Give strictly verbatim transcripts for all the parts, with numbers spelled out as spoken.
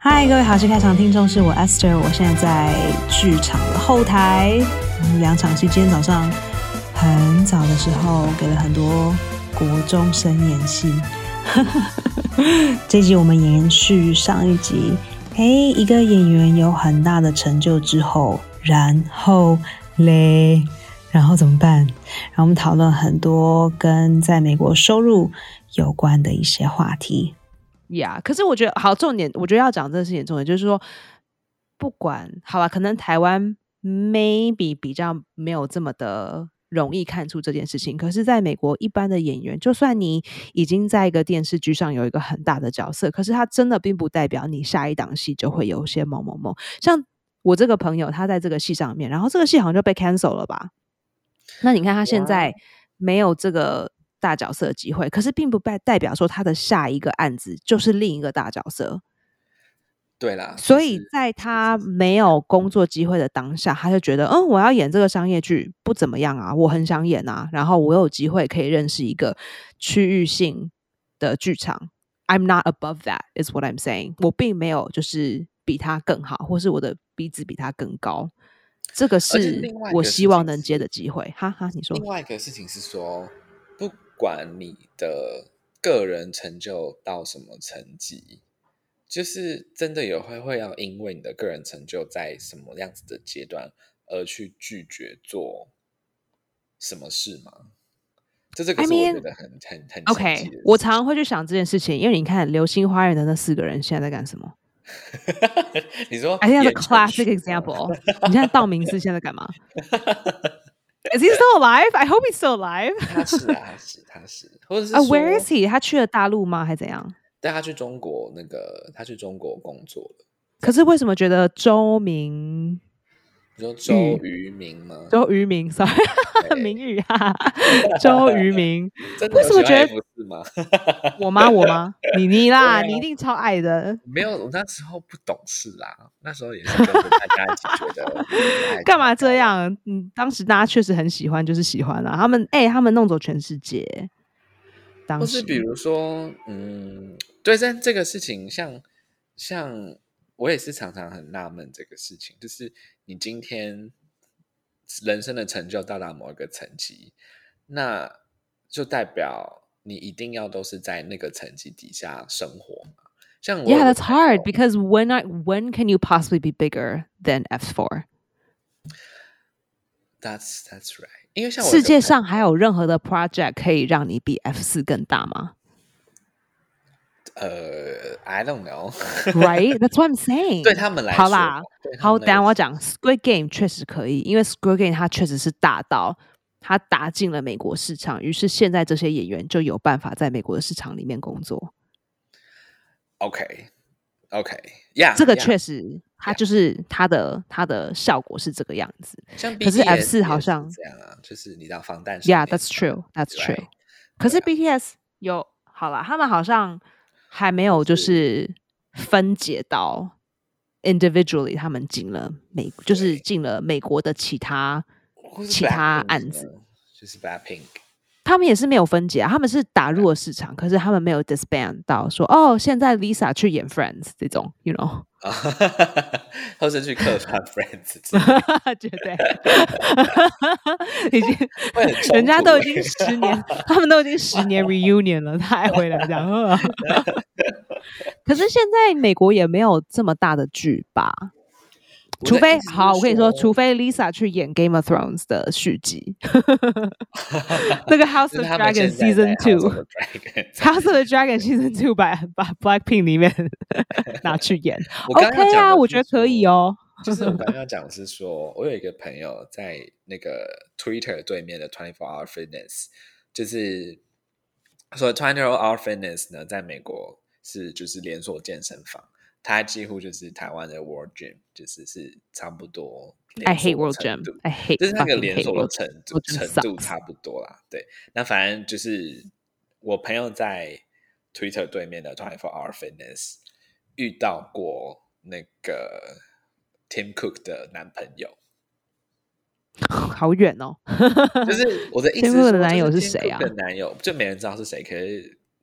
嗨，各位好戏开场听众，是我 Esther， 我现在在剧场的后台。两场戏，今天早上很早的时候给了很多国中生演戏。这集我们延续上一集，嘿，一个演员有很大的成就之后，然后嘞，然后怎么办？然后我们讨论很多跟在美国收入有关的一些话题。 呀、yeah, 可是我觉得好，重点我觉得要讲这个事情重点就是说，不管好了，可能台湾 maybe 比较没有这么的容易看出这件事情，可是在美国一般的演员，就算你已经在一个电视剧上有一个很大的角色，可是他真的并不代表你下一档戏就会有些某某某。像我这个朋友他在这个戏上面，然后这个戏好像就被 cancel 了吧，那你看他现在没有这个大角色的机会，可是并不代表说他的下一个案子就是另一个大角色。 对啦， 所以在他没有工作机会的当下，他就觉得嗯，我要演这个商业剧不怎么样啊，我很想演啊，然后我有机会可以认识一个区域性的剧场。 I'm not above that is what I'm saying， 我并没有就是比他更好，或是我的鼻子比他更高，这个是我希望能接的机会。哈哈，你说。 另外一个事情是说，不管你的个人成就到什么层级，就是真的有会会要因为你的个人成就在什么样子的阶段而去拒绝做什么事吗？这这个是我觉得很 I mean, 很很 OK， 我常常会去想这件事情，因为你看《流星花园》的那四个人现在在干什么？ 你说 I think that's a classic example。 你现在道明寺现在干嘛？Is he still alive? I hope he's still alive. 他是啊，他是，他是，或者是说、 uh, Where is he? 他去了大陆吗？还是怎样？ 带他去中国，那个他去中国工作了。 可是为什么觉得周明？ 你说周渝民吗？ 周渝民 ，sorry， 明宇啊，周渝民。为什么觉得 F 四吗？ 我吗？我吗？你你啦，你一定超爱的。 没有，我那时候不懂事啦，那时候也是跟着大家一起觉得干嘛这样？嗯，当时大家确实很喜欢，就是喜欢啊。他们哎、欸，他们弄走全世界。 或是比如说，嗯，对，但这个事情像像我也是常常很纳闷这个事情，就是你今天人生的成就到达某一个层级，那就代表你一定要都是在那个层级底下生活嘛。像我 Yeah, that's hard because when I, when can you possibly be bigger than F four? That's that's right. 因为像我世界上还有任何的 project 可以让你比 F 四更大吗？ 呃 I don't know. Right? That's what I'm saying. 对他们来说， 好啦，好，等一下我讲 Squid Game 确实可以，因为 Squid Game 它确实是大到它打进了美国市场，于是现在这些演员就有办法在美国的市场里面工作。 OK OK Yeah， 这个确实，它就是它的它的效果是这个样子。 像 B T S 可是 F 四好像这样啊，就是你当防弹。 Yeah, that's true. That's true. 可是 B T S 有好啦，他们好像还没有就是分解到 individually 他们进了美，就是进了美国的其他其他案子， 就是 Blackpink。 他们也是没有分解啊，他们是打入了市场，可是他们没有 disband 到说哦，现在 Lisa 去演 Friends 这种 ，you know， 或是去客串 Friends， 绝对，已经人家都已经十年，他们都已经十年 reunion 了，他还回来这样。可是现在美国也没有这么大的剧吧？除非好，我跟你说，除非 Lisa 去演 Game of Thrones 的续集，那个 House of Dragon Season Two，House of the Dragon Season Two 把把 Blackpink 里面拿去演，OK 啊，我觉得可以哦。 就是我刚刚要讲的是说，我有一个朋友在那个 Twitter 对面的 twenty-four hour Fitness， 就是说 twenty-four hour Fitness 呢，在美国是就是连锁健身房。它几乎就是台湾的 World Gym， 就是是差不多。 I hate World Gym. I hate 就是那个连锁的程度程度差不多啦。对，那反正就是我朋友在 Twitter 对面的twenty-four hour Fitness 遇到过那个 Tim Cook 的男朋友。 好远哦！ 就是我的意思是说， Tim Cook 的男友是谁啊？ Tim Cook 的男友就没人知道是谁，可是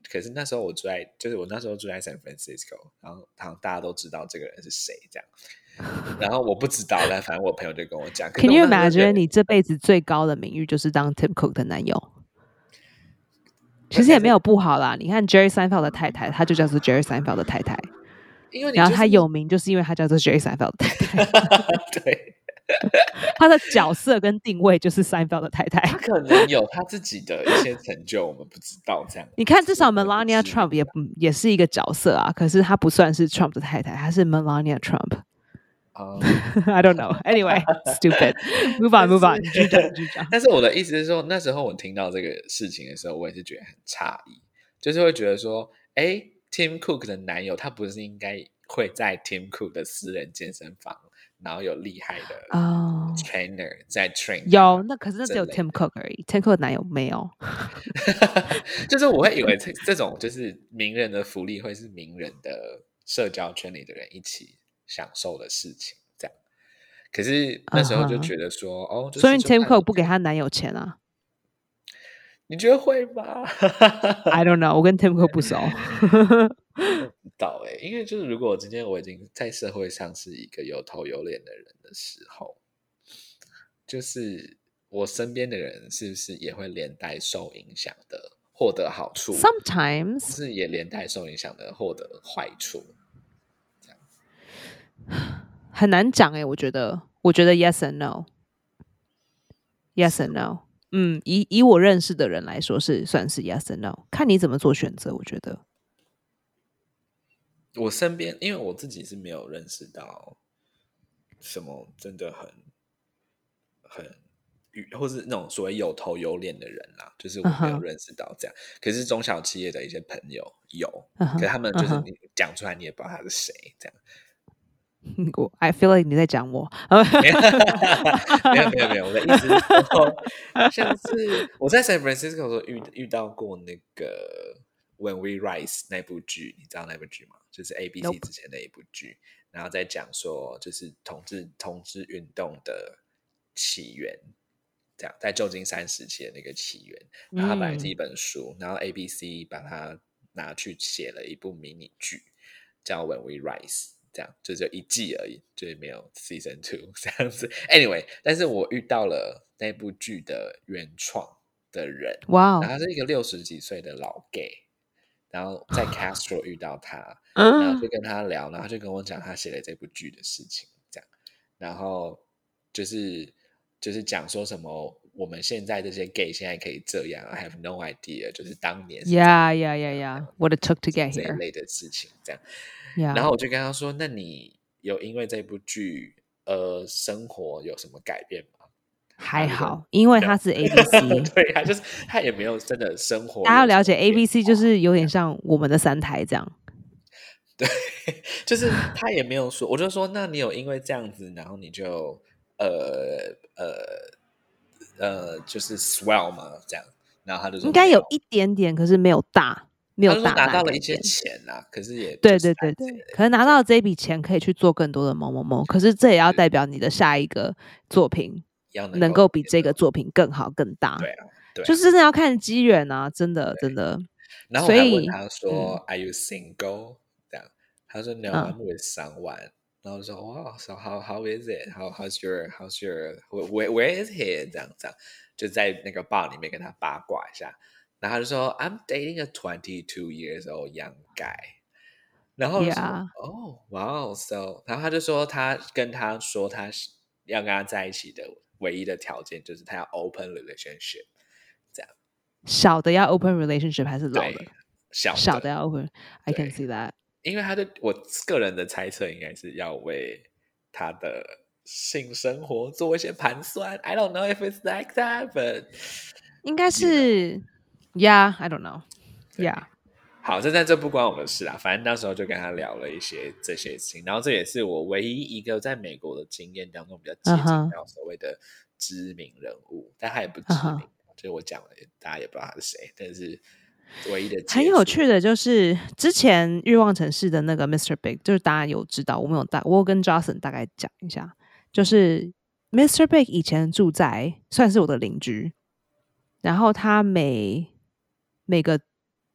可是那时候我住在，就是我那时候住在 San Francisco， 然后好像大家都知道这个人是谁这样。然后我不知道，但反正我朋友就跟我讲。 Can you imagine 你这辈子最高的名誉就是当 Tim Cook 的男友？其实也没有不好啦。你看 Jerry Seinfeld 的太太，她就叫做 Jerry Seinfeld 的太太。 因为你、就是、 然后她有名，就是因为她叫做 Jerry Seinfeld 的太太。 对。 他的角色跟定位就是 Seinfeld 的太太， 他可能有他自己的一些成就，我们不知道这样。 你看，至少 Melania Trump 也也是一个角色啊，可是他不算是 Trump 的太太，他是 Melania Trump。Um, I don't know. Anyway, stupid. Move on, move on. 继续讲，继续讲。 但是我的意思是说，那时候我听到这个事情的时候，我也是觉得很诧异，就是会觉得说，哎 ，Tim Cook 的男友他不是应该会在 Tim Cook 的私人健身房？然后有厉害的 trainer、oh, 在 train， 有那可是那只有 Tim Cook 而已 ，Tim Cook 男友没有。 就是我会以为这这种就是名人的福利会是名人的社交圈里的人一起享受的事情，这样。可是那时候就觉得说， uh-huh. 哦，就是、 所以 Tim Cook 不给她男友钱啊？ 你觉得会吗 ？I don't know， 我跟 Tim Cook 不熟。 不知道哎、欸，因为就是如果我今天我已经在社会上是一个有头有脸的人的时候，就是我身边的人是不是也会连带受影响的获得好处 ？Sometimes 是也连带受影响的获得坏处，这样很难讲哎、欸。我觉得，我觉得 yes and no，yes and no。嗯，以以我认识的人来说，是算是 yes and no， 看你怎么做选择。我觉得。 我身边，因为我自己是没有认识到什么真的很很，或是那种所谓有头有脸的人啦，就是我没有认识到这样。Uh-huh. 可是中小企业的一些朋友有， uh-huh. 可是他们就是你讲出来你也不知道他是谁这样。 I feel like 你在讲我。 没有没有没有，我的意思是说，像是我在 San Francisco 的时候 遇, 遇到过那个 When We Rise 那部剧，你知道那部剧吗？就是 A B C 之前的一部剧， Nope. 然后在讲说就是同志同志运动的起源，这样在旧金山时期的那个起源。然后它本来是一本书，嗯、然后 A B C 把它拿去写了一部迷你剧，叫 When We Rise， 这样就只有一季而已，就是没有 Season Two 这样子。Anyway， 但是我遇到了那部剧的原创的人， 哇、wow. 然后他是一个六十几岁的老 gay。然后在 Castro 遇到他，然后就跟他聊，然后他就跟我讲他写的这部剧的事情，这样，然后就是就是讲说什么我们现在这些 gay 现在可以这样 ，I have no idea， 就是当年 ，Yeah yeah yeah yeah，what it took to get here 这一类的事情，这样， yeah. 然后我就跟他说，那你有因为这部剧呃生活有什么改变吗？ 还好，因为他是 A B C， 对，他就是他也没有真的生活。 大家要了解 A B C 就是有点像我们的三台这样。 对，就是他也没有说，我就说，那你有因为这样子，然后你就呃呃呃，就是 swell 吗？这样，然后他就说应该有一点点，可是没有大，没有大拿到了一些钱啊，可是也对对对对，可是拿到这笔钱可以去做更多的某某某，可是这也要代表你的下一个作品。 能, 能够比这个作品更好更大， 对啊，对啊， 就是真的要看机缘啊，真的真的。 然后我还问他说、嗯、，Are you single？ 这样，他说 No,、嗯、I'm with someone。然后我说 Wow, so how how is it? How how's your how's your where where is he？ 这样这样，就在那个 bar 里面跟他八卦一下。然后他就说 I'm dating a twenty-two years old young guy。然后我就说 Yeah. Oh wow, so 然后他就说他跟他说他要跟他在一起的。唯一的条件就是他要 open relationship， 这样。 小的要 open relationship 还是老的？ 小的小的要 open。I can see that。 因为他的我个人的猜测应该是要为他的性生活做一些盘算。I don't know if it's like that, but 应该是 ，Yeah, I don't know. Yeah. 好，这但这不关我们的事啦。反正那时候就跟他聊了一些这些事情，然后这也是我唯一一个在美国的经验当中比较接近到所谓的知名人物， uh-huh. 但他也不知名， uh-huh. 就是我讲了，大家也不知道他是谁，但是唯一的很有趣的就是之前欲望城市的那个 mister Big， 就是大家有知道，我们有大，我有跟 Johnson 大概讲一下，就是 mister Big 以前住在算是我的邻居，然后他每每个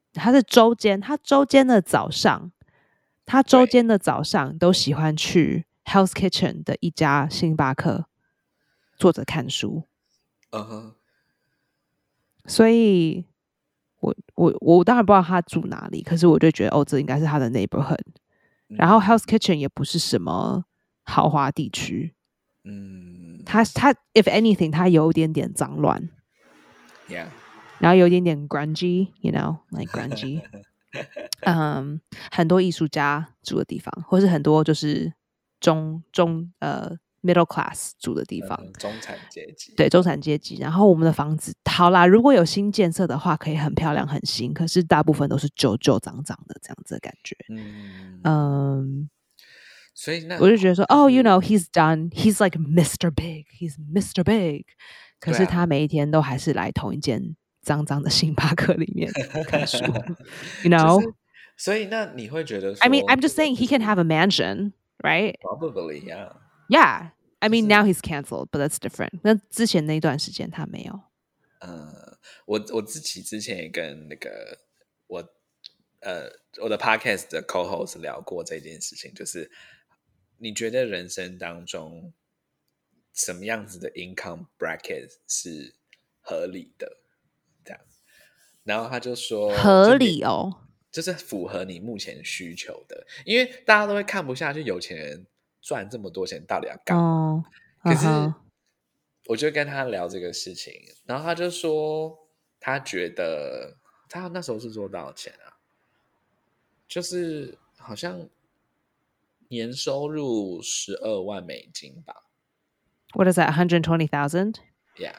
他是周间，他周间的早上，他周间的早上都喜欢去 Hell's Kitchen 的一家星巴克坐着看书。 嗯哼， 所以我我我当然不知道他住哪里，可是我就觉得哦，这应该是他的 neighborhood。然后 Hell's Kitchen 也不是什么豪华地区， 嗯， 他他 if anything 他有一点点脏乱 ，yeah， 然后有一点点 grungy，you know like grungy 嗯，很多艺术家住的地方，或是很多就是中中呃 middle class 住的地方， 嗯，中产阶级， 对，中产阶级。然后我们的房子好啦，如果有新建设的话可以很漂亮很新，可是大部分都是旧旧脏脏的这样子的感觉。 嗯嗯， 所以那我就觉得说哦 you know he's done he's like Mister Big he's Mister Big， 可是他每一天都还是来同一间脏脏的星巴克里面看书you know、就是、 所以那你会觉得说 I mean I'm just saying he can have a mansion right probably yeah yeah I mean now he's canceled but that's different 那之前那一段时间他没有。 呃，我我自己之前也跟那个我呃我的 podcast 的 co-host 聊过这件事情，就是你觉得人生当中什么样子的 income bracket 是合理的？这样，然后他就说合理哦， 就是符合你目前需求的，因为大家都会看不下去，有钱人赚这么多钱到底要干嘛？ 哦、 可是、 uh-huh. 我就跟他聊这个事情，然后他就说他觉得他那时候是做多少钱啊？就是好像年收入十二万美金吧。 What is that? one hundred twenty thousand? Yeah.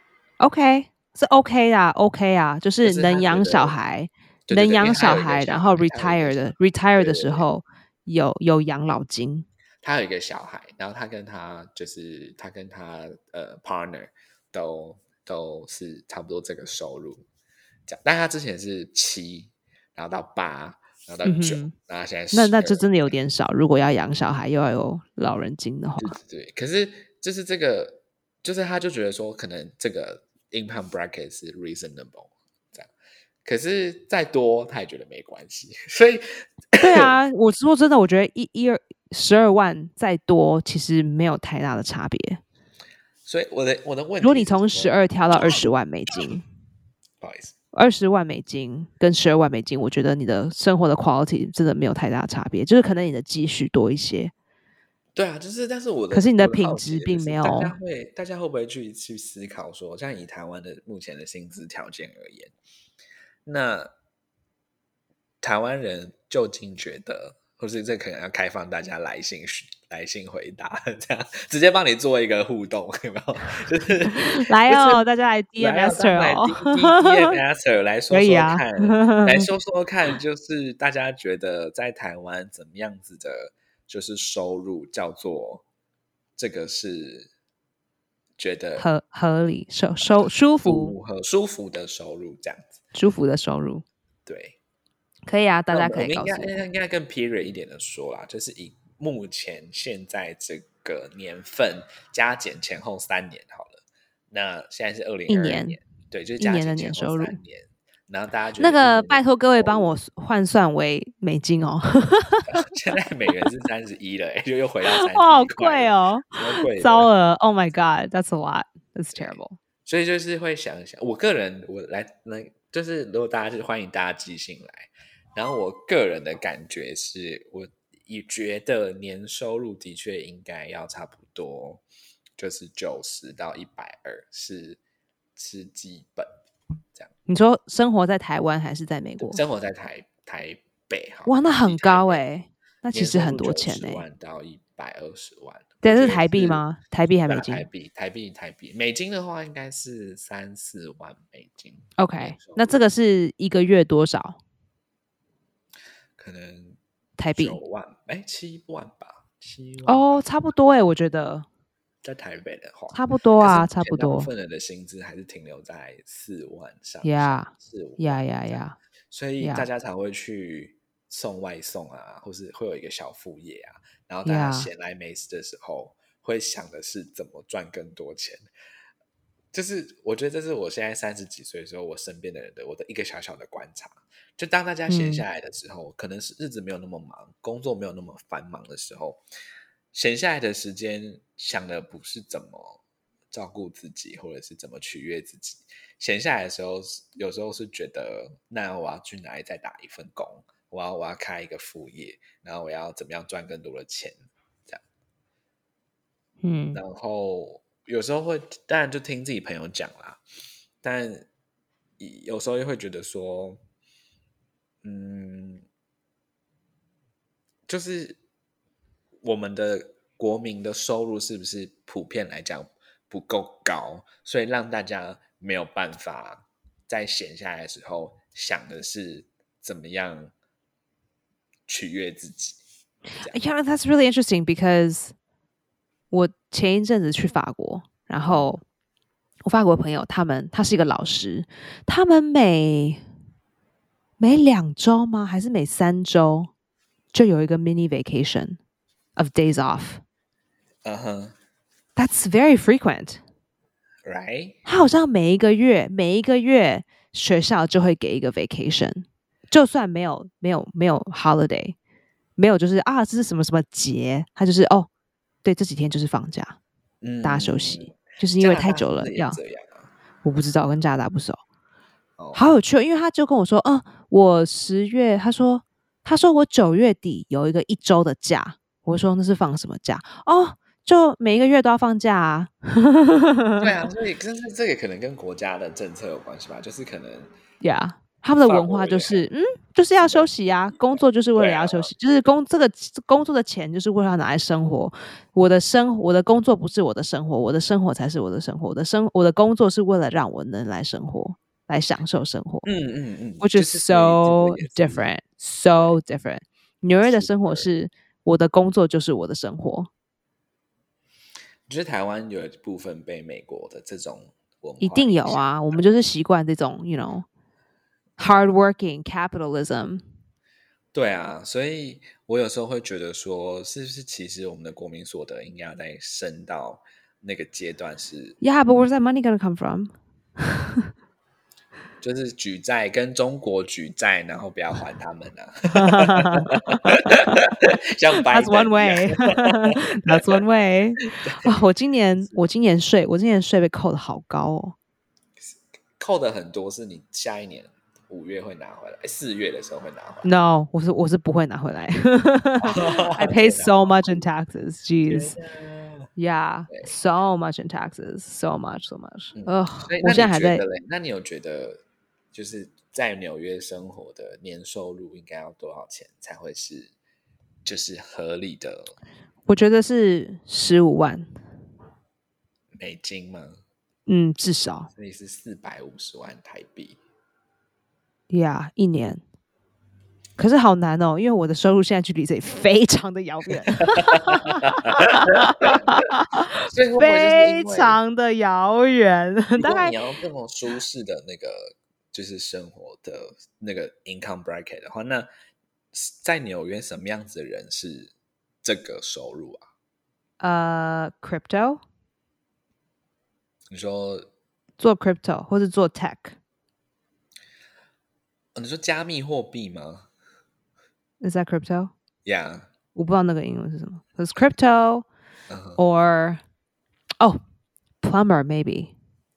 OK， 是 OK 啊 ，OK 啊，就是能养小孩， 对对对， 能养小孩， 小孩然后 retire 的 retire 的时候有有养老金。 他有一个小孩，然后他跟他就是他跟他呃 partner 都都是差不多这个收入，这样，但他之前是七，然后到八，然后到九、嗯，然后现在十二， 那那这真的有点少。如果要养小孩又要有老人金的话， 对对对。可是就是这个，就是他就觉得说，可能这个 income bracket 是 reasonable 这样，可是再多他也觉得没关系，所以对啊，我说真的，我觉得一一二十二万再多其实没有太大的差别。 所以我的我的问题， 如果你从十二跳到二十万美金， 不好意思， 二十万美金跟十二万美金，我觉得你的生活的 quality 真的没有太大差别，就是可能你的积蓄多一些。 对啊，就是但是我的， 可是你的品质并没有。 大家会大家会不会去去思考说，像以台湾的目前的薪资条件而言，那台湾人究竟觉得，或是这可能要开放大家来信来信回答，这样直接帮你做一个互动，有没有？就是来哦， 就是、 大家来 D M Master 哦 ，D M Master 来说说看， 啊、 来说说看，就是大家觉得在台湾怎么样子的，就是收入叫做这个是觉得合合理、收收舒服和舒服的收入，这样子， 舒服的收入， 对。 可以啊，大家可以告诉我。 我们应该应该更 period 一点的说啦，就是以目前现在这个年份加减前后三年好了。那现在是二零二二年，对，就是加减前后三年。然后大家觉得那个拜托各位帮我换算为美金哦。 现在美元是三十一了，哎，就又回到三十一， 好贵哦， 贵， 糟了 ！Oh my god, that's a lot, that's terrible。 所以就是会想一想，我个人我来来，就是如果大家就是欢迎大家寄信来。然后我个人的感觉是，我也觉得年收入的确应该要差不多，就是九十到一百二是是基本这样。 你说生活在台湾还是在美国？ 生活在台台北， 哇，那很高哎、欸，那其实很多钱哎、欸， 九十万到一百二十万。 这是台币吗？台币还美金？ 台币，台币，台币。美金的话应该是三四万美金。 OK， 那这个是一个月多少？ 可能台币九万，哎，七万吧，七万哦，差不多哎，我觉得在台北的话， 差不多啊，差不多。 大部分人的薪资还是停留在四万上下， 四五呀呀呀， 所以大家才会去送外送啊，或是会有一个小副业啊，然后大家闲来没事的时候，会想的是怎么赚更多钱。就是我觉得这是我现在三十几岁的时候，我身边的人的我的一个小小的观察。 就当大家闲下来的时候、嗯、可能是日子没有那么忙，工作没有那么繁忙的时候，闲下来的时间想的不是怎么照顾自己或者是怎么取悦自己，闲下来的时候有时候是觉得那我要去哪里再打一份工，我要我要开一个副业，然后我要怎么样赚更多的钱这样。 嗯， 然后有时候会当然就听自己朋友讲啦，但有时候又会觉得说嗯，就是我们的国民的收入是不是普遍来讲不够高，所以让大家没有办法在闲下来的时候想的是怎么样取悦自己。 Yeah, that's really interesting because 我前一阵子去法国，然后我法国朋友他们他是一个老师，他们每每两周吗？还是每三周就有一个 mini vacation of days off. Uh-huh. That's very frequent. Right? 他好像每一个月每一个月学校就会给一个 vacation， 就算没有没有没有 holiday， 没有就是啊这是什么什么节，他就是哦对这几天就是放假，嗯、大家休息，就是因为太久了要。我不知道，我跟加拿大不熟。哦、好有趣，因为他就跟我说，嗯，我十月，他说他说我九月底有一个一周的假，我说那是放什么假？哦。就每一个月都要放假啊。 对啊，所以但是这个可能跟国家的政策有关系吧，就是可能 yeah 他们的文化就是嗯就是要休息啊，工作就是为了要休息，啊、就是工这个工作的钱就是为了要拿来生活。我的生我的工作不是我的生活，我的生活才是我的生活。我的生我的工作是为了让我能来生活，来享受生活。 嗯嗯嗯 ，which is so different, so different。纽约的生活是我的工作就是我的生活。 我觉得台湾有一部分被美国的这种文化一定有啊，我们就是习惯这种 you know hardworking capitalism。 对啊，所以我有时候会觉得说是不是其实我们的国民所得应该要再升到那个阶段是 Yeah, but where's that money gonna come from? 就是举债跟中国举债，然后不要还他们啊。像拜登 That's one way. That's one way. 啊、我今年我今年税我今年税被扣的好高哦， 扣的很多，是你下一年五月会拿回来，四月的时候会拿回来。 No， 我是我是不会拿回来。I pay so much in taxes. Jeez. Yeah, so much in taxes, so much, so much. 呃、嗯，我现在还在。 那你有觉得？就是在纽约生活的年收入应该要多少钱才会是就是合理的？ 我觉得是十五万美金吗？ 嗯，至少。 所以是四百五十万台币。 呀、yeah, ，一年。可是好难哦，因为我的收入现在距离这里非常的遥远。 所以会不会非常的遥远。 大概你要这么舒适的那个。就是生活的那个 income bracket 的话，那在纽约什么样子的人是这个收入啊？ 呃、uh, crypto 你说做 crypto 或是做 tech、 哦、你说加密货币吗？ Is that crypto? Yeah. 我不知道那个英文是什么。It's crypto、uh-huh. or oh plumber maybe。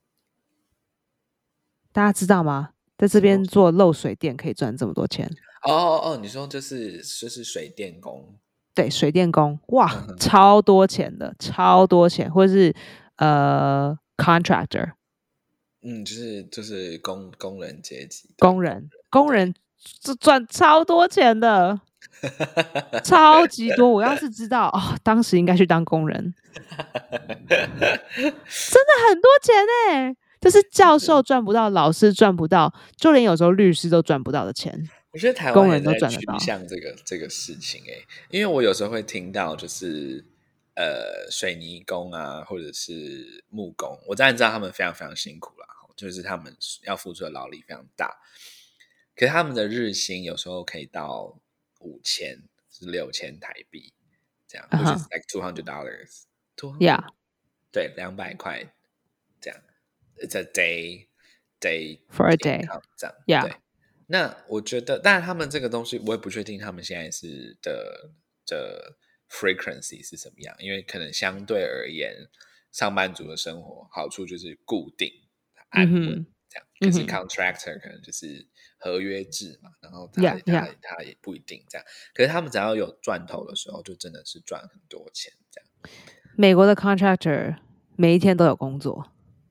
大家知道吗？在这边做漏水电可以赚这么多钱。 哦哦哦，你说就是就是水电工。 对，水电工，哇，嗯、超多钱的，超多钱，或者是呃 contractor。 嗯，就是就是工工人阶级。 工人，工人就赚超多钱的，超级多。我要是知道哦，当时应该去当工人。真的很多钱哎、欸！这是教授赚不到，老师赚不到，就连有时候律师都赚不到的钱。 我觉得台湾也在趋向这个这个事情哎、欸，因为我有时候会听到就是呃水泥工啊，或者是木工，我当然知道他们非常非常辛苦啦，就是他们要付出的劳力非常大，可是他们的日薪有时候可以到五千是六千台币这样， which is like two hundred dollars. Yeah， 对，两百块这样。It's a day, day for a day. 这样， Yeah. 对。 那我觉得，当然他们这个东西我也不确定他们现在是的的 frequency 是什么样，因为可能相对而言，上班族的生活好处就是固定安稳、嗯、这样，可是 contractor 可能就是合约制嘛，然后他、 yeah, yeah. 他他也不一定这样，可是他们只要有赚头的时候，就真的是赚很多钱这样。 美国的 contractor 每一天都有工作。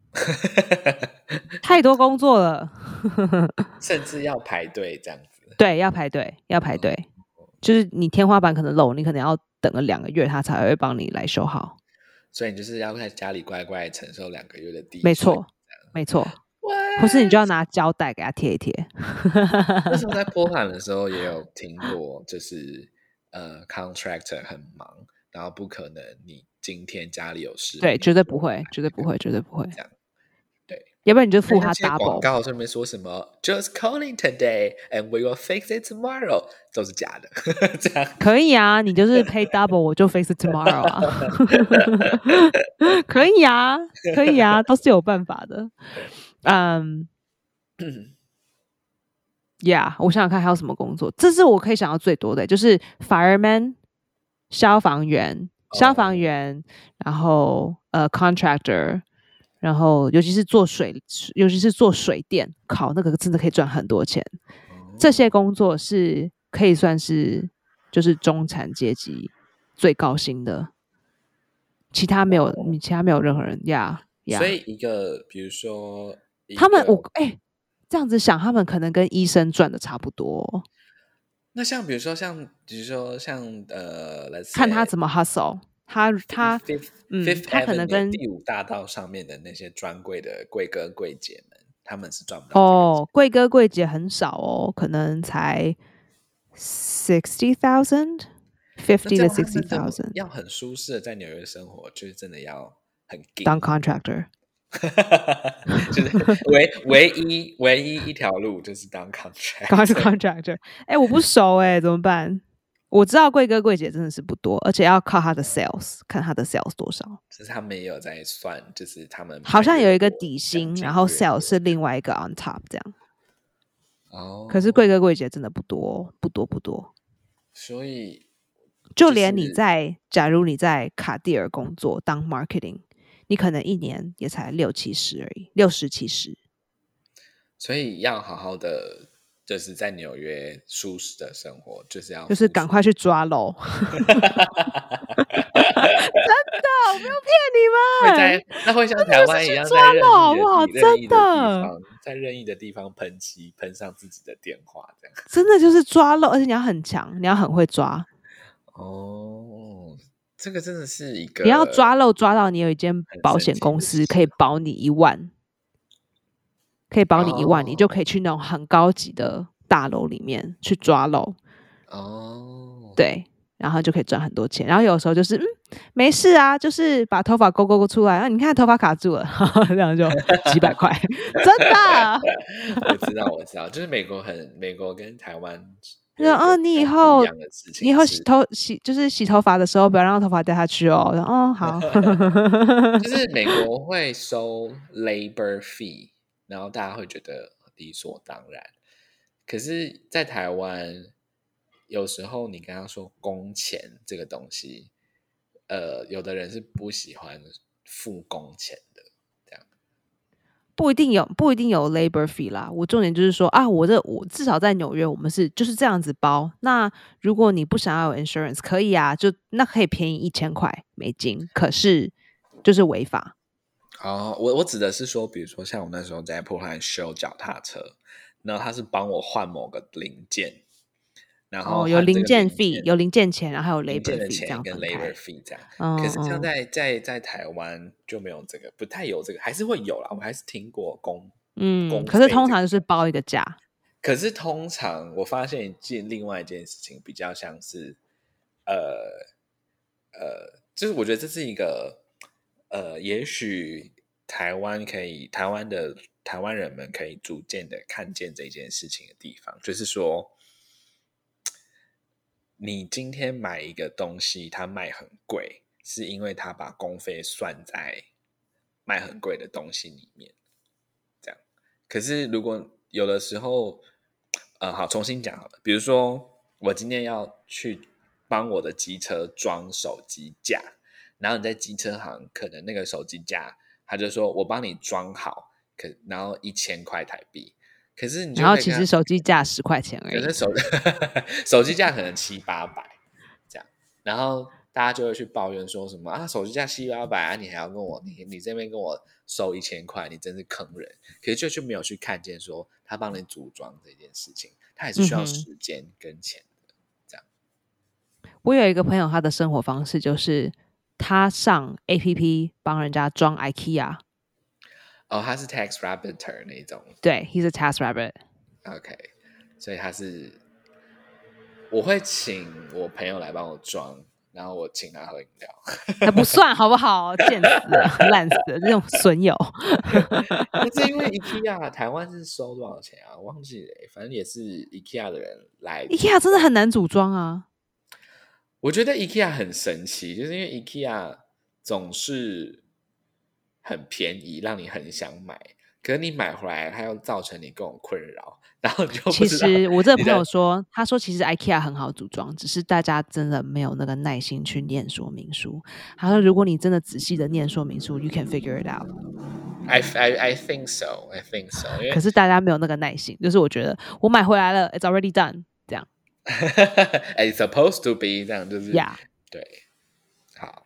太多工作了甚至要排队这样子。 对，要排队要排队、嗯、就是你天花板可能漏，你可能要等个两个月他才会帮你来修好， 所以你就是要在家里乖乖承受两个月的滴水。 没错没错，或是你就要拿胶带给他贴一贴那时候在波兰的时候也有听过，就是呃 contractor 很忙，然后不可能你今天家里有事， 对，绝对不会绝对不会绝对不会这样，对， 要不然你就付他 double。 广告上面说什么 just calling today and we will fix it tomorrow 都是假的这样可以啊，你就是 pay double 我就 fix it tomorrow 啊可以啊可以啊，都是有办法的。嗯、um, yeah 我想想看还有什么工作，这是我可以想到最多的，就是 fireman 消防员消防员、oh. 然后呃 contractor，然后尤其是做水尤其是做水电，靠那个真的可以赚很多钱、oh. 这些工作是可以算是就是中产阶级最高薪的，其他没有、oh. 其他没有任何人呀、yeah, yeah. 所以一个比如说他们我哎、欸，这样子想他们可能跟医生赚的差不多。 那像比如说像比如说像呃看他怎么 hustle， 他他 Fifth, 嗯 Fifth 他可能跟第五大道上面的那些专柜的柜哥柜姐们，他们是赚不到哦，柜哥柜姐很少哦，可能才 sixty thousand fifty to sixty thousand， 要很舒适的在纽约生活，就是真的要很当 contractor 就是唯唯一唯一一条路就是当 contractor contractor 哎、欸，我不熟哎、欸，怎么办？我知道柜哥柜姐真的是不多，而且要靠他的 sales， 看他的 sales 多少。 就是他们也有在算，就是他们好像有一个底薪，然后 sales 是另外一个 on top 这样。 哦， 可是柜哥柜姐真的不多，不多不多。 所以、 就是、就连你在，假如你在卡地尔工作当 marketing， 你可能一年也才六七十而已，六十七十。 所以要好好的。就是在纽约舒适的生活，就是要就是赶快去抓漏，真的，我没有骗你们。 会在那会像台湾一样，在任意的好不好？ 真的，在任意的地方喷漆，喷上自己的电话，这样真的就是抓漏，而且你要很强，你要很会抓。 哦，这个真的是一个， 你要抓漏抓到你有一间保险公司可以保你一万。可以保你一万、oh. 你就可以去那种很高级的大楼里面去抓漏哦， oh. 对，然后就可以赚很多钱。然后有时候就是嗯，没事啊，就是把头发勾勾勾出来，啊，你看头发卡住了，这样就几百块，真的。 我知道，我知道，就是美国很美国跟台湾， 哦，你以后你以后洗头洗就是洗头发的时候不要让头发掉下去哦。哦，好， 就是美国会收 labor fee。然后大家会觉得理所当然，可是在台湾有时候你跟他说工钱这个东西，呃，有的人是不喜欢付工钱的，这样不一定有不一定有 labor fee 啦。我重点就是说啊，我这我至少在纽约我们是就是这样子包。那如果你不想要有 insurance 可以啊，就那可以便宜一千块美金，可是就是违法。 哦，我我指的是说，比如说像我那时候在波兰修脚踏车，然后他是帮我换某个零件，然后、 哦、有零件费，有零件钱，然后还有 labor fee 这样跟 labor fee 这样。 嗯、 可是像在在在台湾就没有这个，不太有这个，还是会有啦，我还是听过公嗯， 公可是通常就是包一个价。 可是通常我发现一件另外一件事情，比较像是呃呃，就是我觉得这是一个。呃，也许台湾可以，台湾的台湾人们可以逐渐的看见这件事情的地方，就是说，你今天买一个东西，它卖很贵，是因为他把工费算在卖很贵的东西里面，这样。可是如果有的时候， 呃，好，重新讲好了。比如说，我今天要去帮我的机车装手机架，然后你在机车行，可能那个手机架，他就说我帮你装好，可然后一千块台币。可是你就然后其实手机架十块钱而已， 可是手手机架可能七八百这样，然后大家就会去抱怨说什么啊，手机架七八百啊，你还要跟我你你这边跟我收一千块，你真是坑人。可是就就没有去看见说他帮你组装这件事情，他也是需要时间跟钱的、嗯、这样。 我有一个朋友，他的生活方式就是他上 A P P 帮人家装 IKEA。 哦，他是 Tax Rabbitter 那种。 对 ，He's a Tax Rabbit。 OK， 所以他是，我会请我朋友来帮我装，然后我请他喝饮料。 那不算好不好？贱死了，烂死了，这种损友。 可是因为 IKEA 台湾是收多少钱啊？忘记了，反正也是 IKEA 的人来。 IKEA 真的很难组装啊。 我觉得 IKEA 很神奇，就是因为 IKEA 总是很便宜，让你很想买，可是你买回来它又造成你各种困扰，然后你就不知道。 其实我这个朋友说，他说其实 IKEA 很好组装，只是大家真的没有那个耐心去念说明书。他说如果你真的仔细的念说明书 ，you can figure it out。 I I I think so, I think so 。 可是大家没有那个耐心，就是我觉得我买回来了 ，it's already done， 这样。 It's supposed to be 这样，就是 Yeah， 对。好，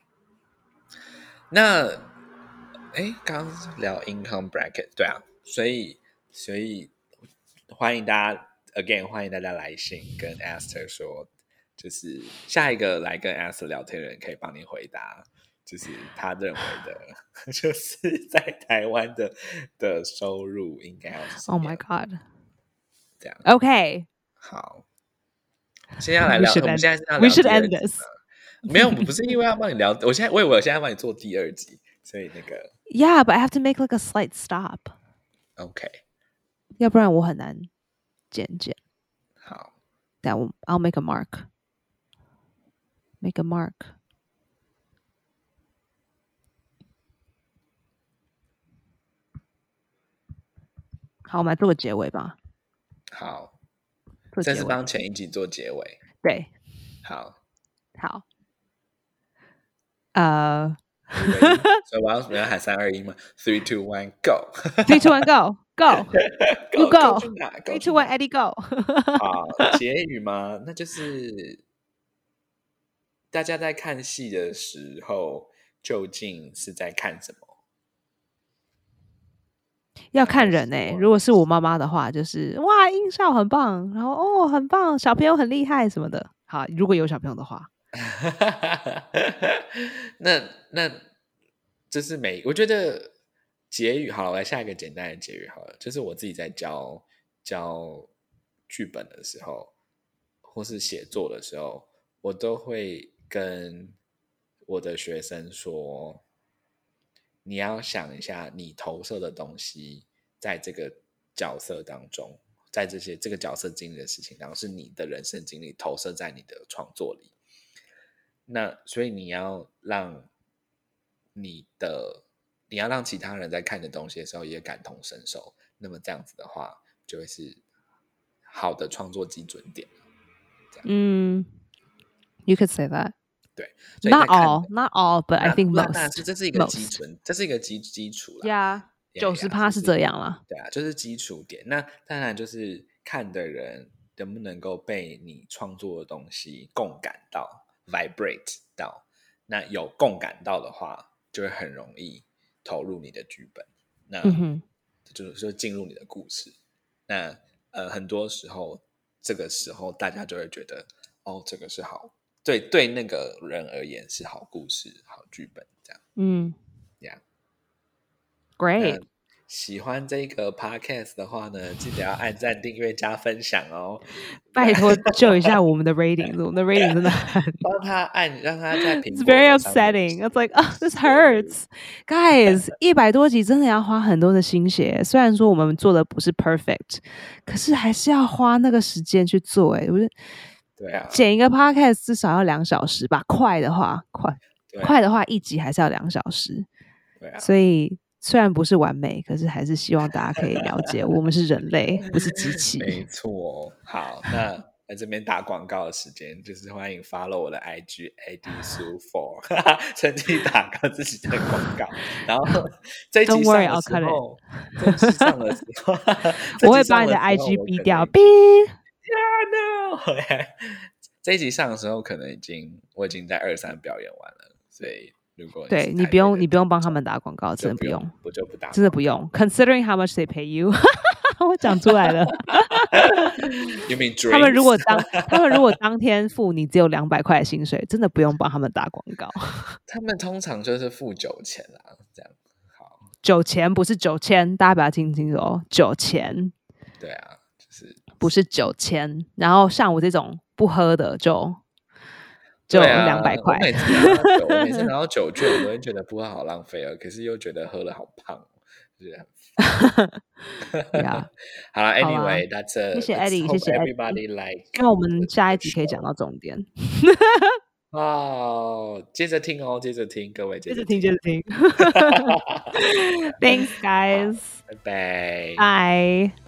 那。哎，刚刚聊 income bracket， 对啊，所以所以欢迎大家 again 欢迎大家来信跟 Esther 说，就是下一个来跟 Esther 聊天的人可以帮你回答，就是他认为的，就是在台湾的的收入应该要是什么 ？Oh my god！ 这样 OK， 好，现在要来聊，我们现在是要聊 We should end this。 没有，不是因为要帮你聊，我现在我以为我现在帮你做第二集。所以那个 Yeah, but I have to make like a slight stop. OK， 要不然我很难剪剪。 好， 但我 I'll make a mark. Make a mark. 好，我们来做个结尾吧。 好， 做结尾这是帮前一集做结尾。 对， 好， 好，呃。 所以我要我要喊三二一吗 ？Three two one go。 Three two one go go you go. Three two one Eddie go. 好，结语吗？那就是大家在看戏的时候，究竟是在看什么？ 要看人欸，如果是我妈妈的话，就是哇音效很棒，然后哦很棒，小朋友很厉害什么的。好，如果有小朋友的话。 那那这是每我觉得结语好了，我来下一个简单的结语好了，就是我自己在教教剧本的时候，或是写作的时候，我都会跟我的学生说，你要想一下你投射的东西在这个角色当中，在这些这个角色经历的事情当中，是你的人生经历投射在你的创作里。那所以你要让你的你要让其他人在看你的东西的时候也感同身受，那么这样子的话就会是好的创作基准点。 嗯 You could say that。 对 Not all Not all But I think most。 那这是一个基准，这是一个基基础啦。 Yeah， 九十趴是这样啦。 对啊，就是基础点。那当然就是看的人能不能够被你创作的东西共感到vibrate 到，那有共感到的话，就会很容易投入你的剧本，那、嗯、就是说进入你的故事。那呃，很多时候这个时候大家就会觉得，哦，这个是好，对对，那个人而言是好故事、好剧本这样。嗯 ，Yeah，Great。喜欢这个 podcast 的话呢，记得要按赞、订阅、加分享哦。 拜托救一下我们的 rating， 我们的 rating 真的很帮他按，让他在苹果。It's very upsetting. It's like, oh, this hurts, guys. 一百多集真的要花很多的心血。虽然说我们做的不是 perfect， 可是还是要花那个时间去做。哎，我觉得， 对啊， 剪一个 podcast 至少要两小时吧。快的话，快、啊、快的话一集还是要两小时。 对啊， 所以。 虽然不是完美，可是还是希望大家可以了解，我们是人类，不是机器。 没错。好，那在这边打广告的时间，就是欢迎 follow 我的 I G A D Su four， 趁机打个自己的广告。然后这一集上的时候，这一集上的时候， 我会把你的 I G 逼掉，逼。 Yeah, no 这一集上的时候，可能已经我已经在二三表演完了，所以如果你对你不用你不用帮他们打广告，真的不用， 我就不打， 真的不用。Considering how much they pay you， 我讲出来了。 You mean drinks？ 他们如果当他们如果当天付你只有两百块的薪水，真的不用帮他们打广告。 他们通常就是付酒钱啦，这样。好， 酒钱不是九千，大家不要听清楚哦，酒钱。 对啊，就是不是九千，然后像我这种不喝的就就两百块。 我每次拿到酒，我每次拿到酒券，我都会觉得不喝好浪费了，可是又觉得喝了好胖，就是很 yeah. 好了 ，Anyway， that's a 谢谢 Eddie， 谢谢 everybody like。 那我们下一集可以讲到重点。 哦，接着听哦，接着听，各位接着听，接着听。Thanks, guys. 拜拜。 Bye.